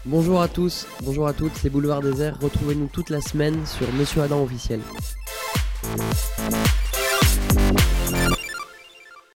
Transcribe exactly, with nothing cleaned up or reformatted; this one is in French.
Bonjour à tous, bonjour à toutes, c'est Boulevard Désert. Retrouvez-nous toute la semaine sur Monsieur Adam officiel.